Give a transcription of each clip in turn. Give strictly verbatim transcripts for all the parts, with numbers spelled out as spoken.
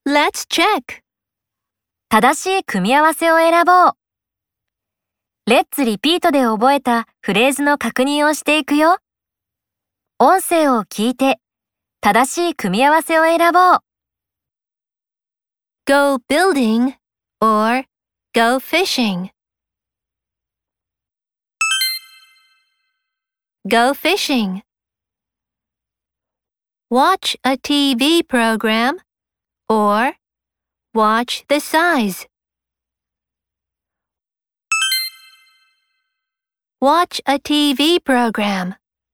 Let's check. 正しい組み合わせを選ぼう。Let's repeat で覚えたフレーズの確認をしていくよ。音声を聞いて、正しい組み合わせを選ぼう。 Go building or go fishing. Go fishing. Watch a T V program or watch the size. Watch a T V program.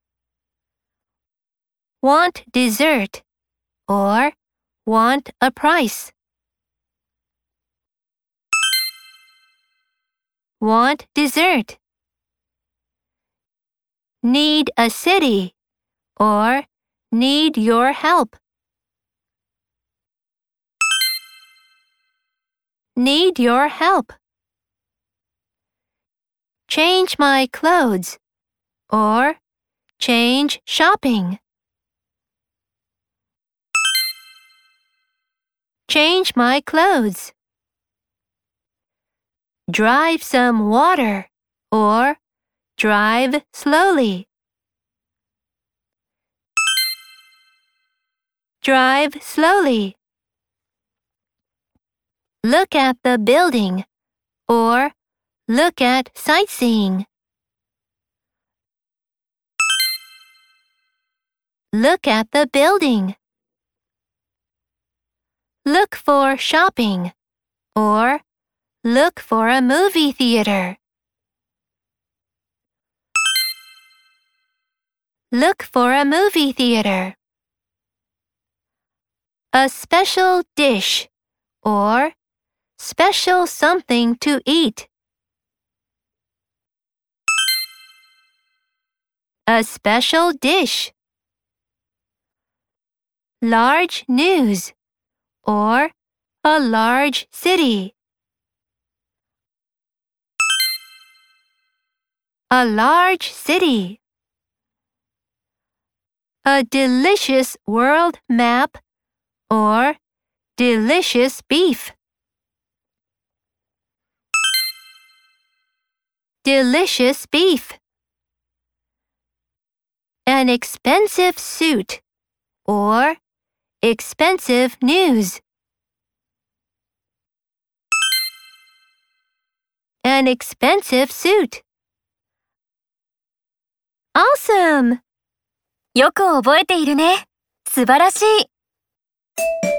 Want dessert or want a price. Want dessert. Need a city or need your help. Need your help. Change my clothes or change shopping. Change my clothes. Drive some water or drive slowly. Drive slowly. Look at the building or look at sightseeing. Look at the building. Look for shopping or look for a movie theater. Look for a movie theater. A special dish or special something to eat. A special dish. Large news or a large city. A large city. A delicious world map or delicious beef. Delicious beef. An expensive suit or expensive news. An expensive suit. Awesome! よく覚えているね。素晴らしい。